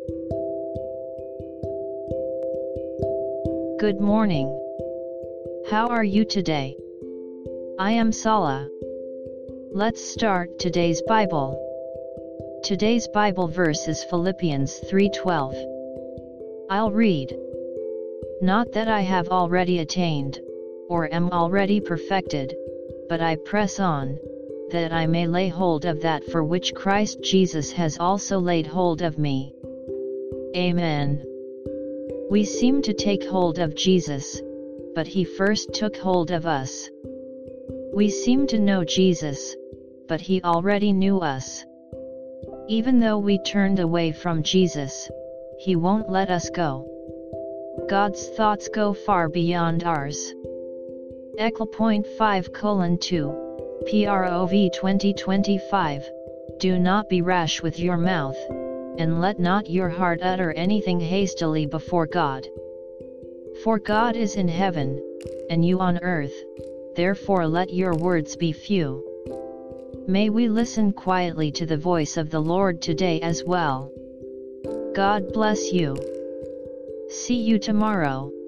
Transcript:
Good morning. How are you today? I am Sala. Let's start today's Bible. Today's Bible verse is Philippians 3:12. I'll read. Not that I have already attained, or am already perfected, but I press on, that I may lay hold of that for which Christ Jesus has also laid hold of me. Amen. We seem to take hold of Jesus, but he first took hold of us. We seem to know Jesus, but he already knew us. Even though we turned away from Jesus, he won't let us go. God's thoughts go far beyond ours. Ecl.5:2, Prov 2025, Do not be rash with your mouth, and let not your heart utter anything hastily before God. For God is in heaven, and you on earth, therefore let your words be few. May we listen quietly to the voice of the Lord today as well. God bless you. See you tomorrow.